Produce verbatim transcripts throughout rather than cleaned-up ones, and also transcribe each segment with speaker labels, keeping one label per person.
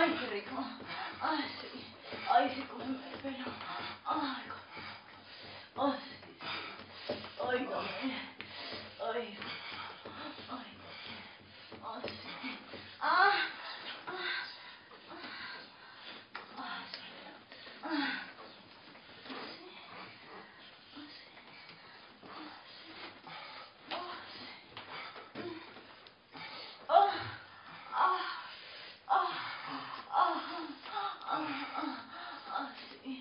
Speaker 1: Ay, qué rico. Ay, sí. Ay, sí, cómeme el pelo. Ay, cómeme. Ay, sí, sí. Ay, dame. Ay, ay, ay, sí. Ah, ah, ah, sí. Ah, ah, ah, ah, ah, ah, ah, sí.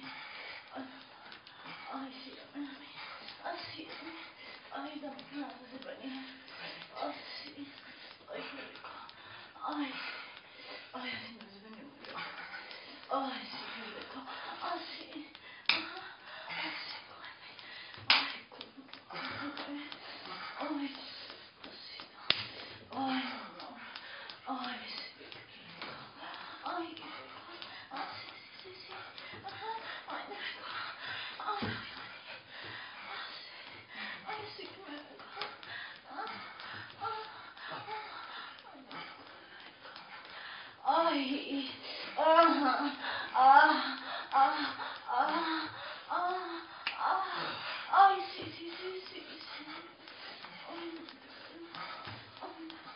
Speaker 1: Ay, sí, dame, dame. Ay, sí, dame. Ay, dame ganas de bañar. Ay, sí. Ay, qué rico. Ay, ay, así no se venía muy rico. Ay, sí, qué rico. Ay, sí. Ajá. Ay, sí, cómeme. Ay, cómeme. Ay, así no. Ay, no. Ay, sí, qué rico. Ay, qué rico. Ay, sí, sí, sí, sí. Ajá. Ay, qué rico. Ay, ay, ay. Ay, sí, qué rico. Ah, ah, ah. Ay, ah, ah, ah, ah, ah, ah. Ay, sí, sí, sí, sí, sí. Ay, no, ay, no.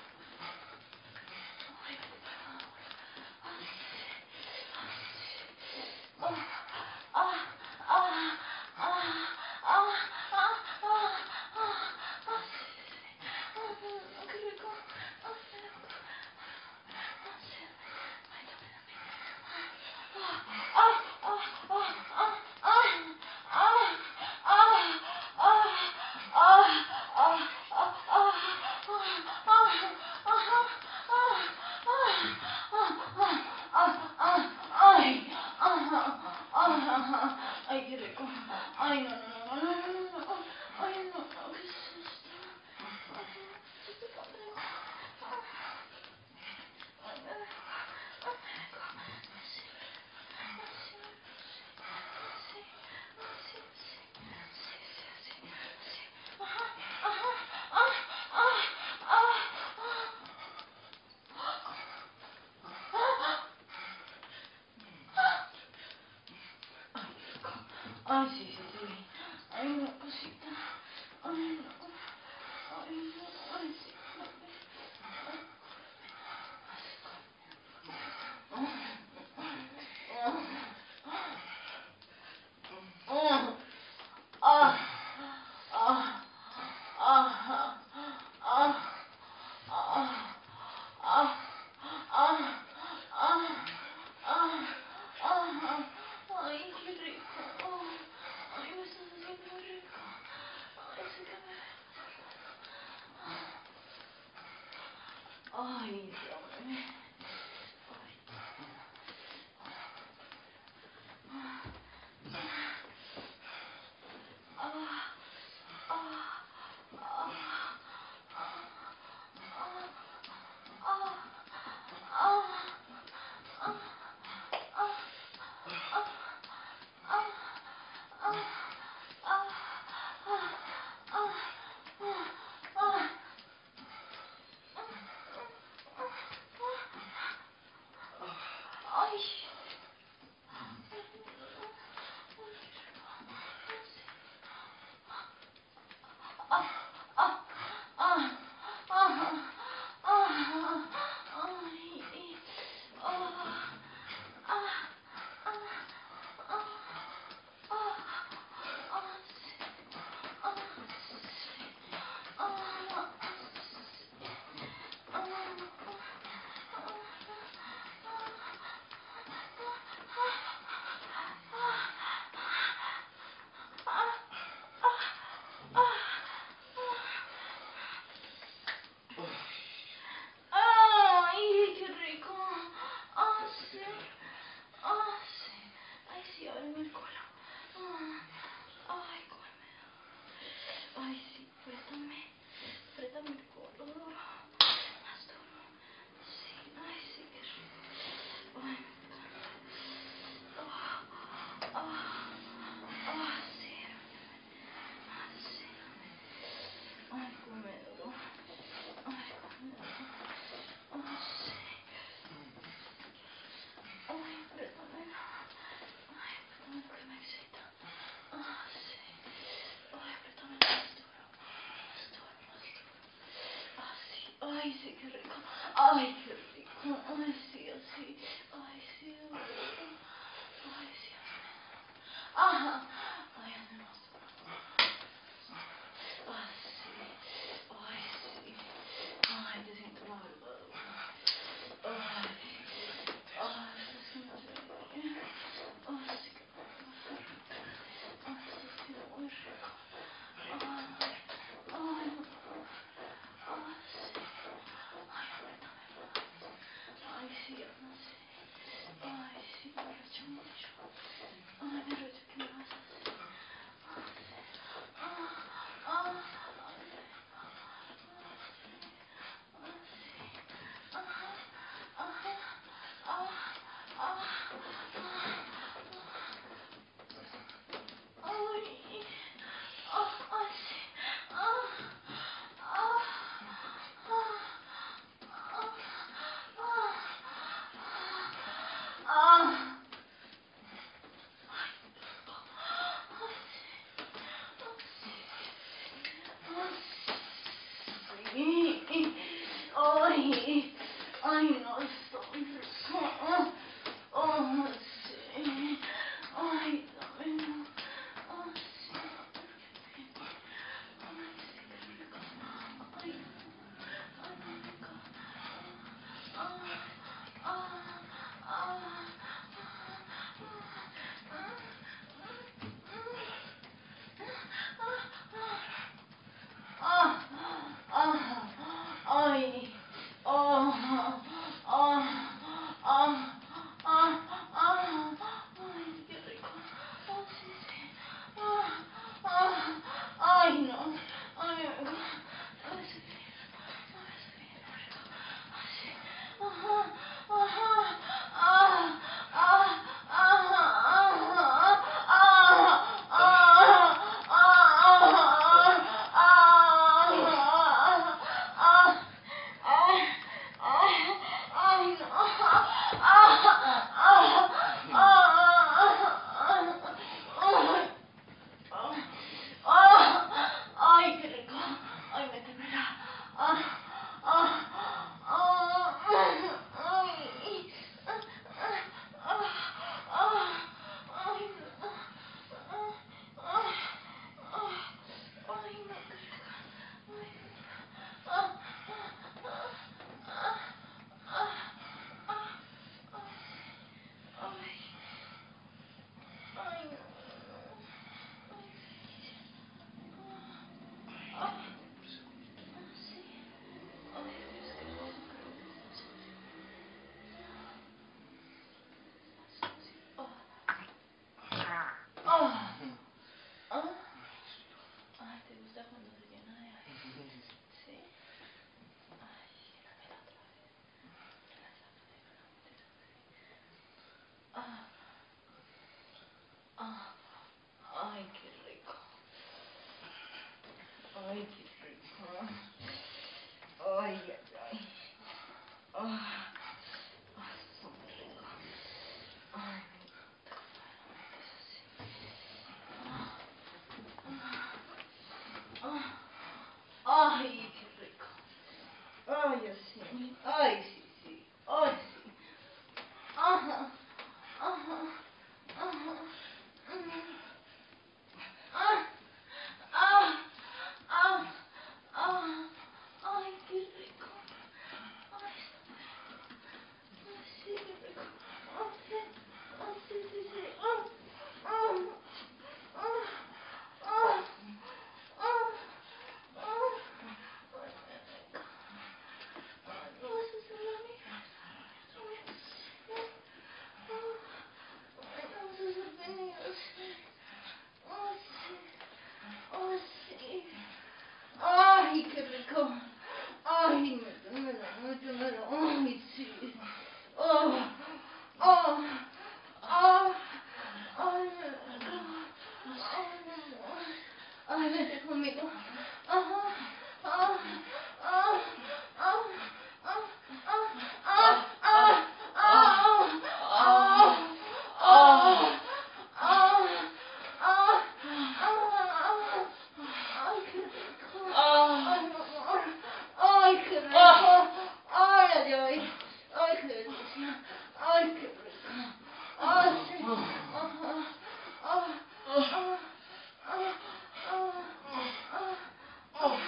Speaker 1: Ay, por favor. Ay, ay, ah, ah, ah, ah, ah, ah, ah, ah, ah, sí, sí. Ah, qué rico. Ay, qué rico. Ah, sí. Ay, dame, dame. Ah, ah, ah, ah, ah, ah, ah, ah, ah, ah, ah, ay, qué rico. Ay, no, no, no, no, no, no, no. Ay, no, no, ¿qué es esto? Ay, no, esto está rico. Ay, me rico. Ay, me rico. Sí, sí, sí, sí, sí, sí, sí, sí, sí. Ajá, ajá, ah, ah, ah, ah. Ay, sí, sí, sí. Ay, una cosita. Ay, no. Ay, no. Ay, sí. Ah, ah, ah, ah, ah, ah, ah, ah, ah, ah, ay, qué rico. Ay, me estás haciendo muy rico. Ay, sí que me... Ay, dame. Ah, ah, ah, ah, ah, Ay, sí, qué rico. Ay, qué rico. Ay, sí, así. Ay, sí, ay, sí. Ajá. Ay, ande más. Ay, sí. Ay, sí. Ay, te siento la verdad. Ay. Ay, sí, no sé. Ay, sí, qué rico. Ay, sí, sí, muy rico. Ay, ay, no. Ay, sí. Ay, apriétame. Ay, sí, no sé. Ay, sí, me arrecho mucho. Ay, me arrecho, ¿qué me vas a hacer? Ah, ah, ay, Ay, ay, no, estoy rico. Oh, sí. Ay, dame, no. Oh, sí. Ay, sí, qué rico. Ay, ay, qué rico. Ah, ah, ah, ah, ah, ay, oh, oh, oh, ah, ah, ay, qué rico. Oh, sí, sí. Ah, ah, ay, no. Ay, ay, sí, sí. Ay, sí, qué rico. Así. Ajá, ajá, ah, ah, ah, ah, ah, ay, qué rico. Ay, me temblará. Ah, ah, ah, ay, ay, ah, ah, ay, no. Ah, ah, ah, ay, no, qué rico. Ay, ah, ah, ah, ah, ah, ay, ay, no. Ay, ah, sí. Ay, Dios, qué cosa, creo que es eso. Ah, ah, ah. Ay, ¿te gusta cuando se llena de aire? ¿Sí? Ay, dámela otra vez. Te la saco de la Ah, ah, ay, qué rico. Ay, qué rico. Ay, ay, ay. Ah, ay, súper rico. Ay, me encanta. Es así. Ah, ah, ay, qué rico. Ay, así. Ay, sí, sí. Ay, sí. Ajá, ajá, ajá. Mm. Ah, ah, ah, ah, ay, qué rico. Ay, ay, sí, qué rico. Ay, sí, ay, sí, sí, sí. Ah, ah, ah, ah, ah, ah. Ay, qué rico. Ay, no, eso es Ay, ay, qué delicia. Ay, qué rico. Ay, sí. Ah, ah, ah, ah, ah, ah, ah,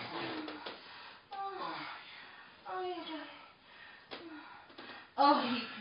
Speaker 1: Ay,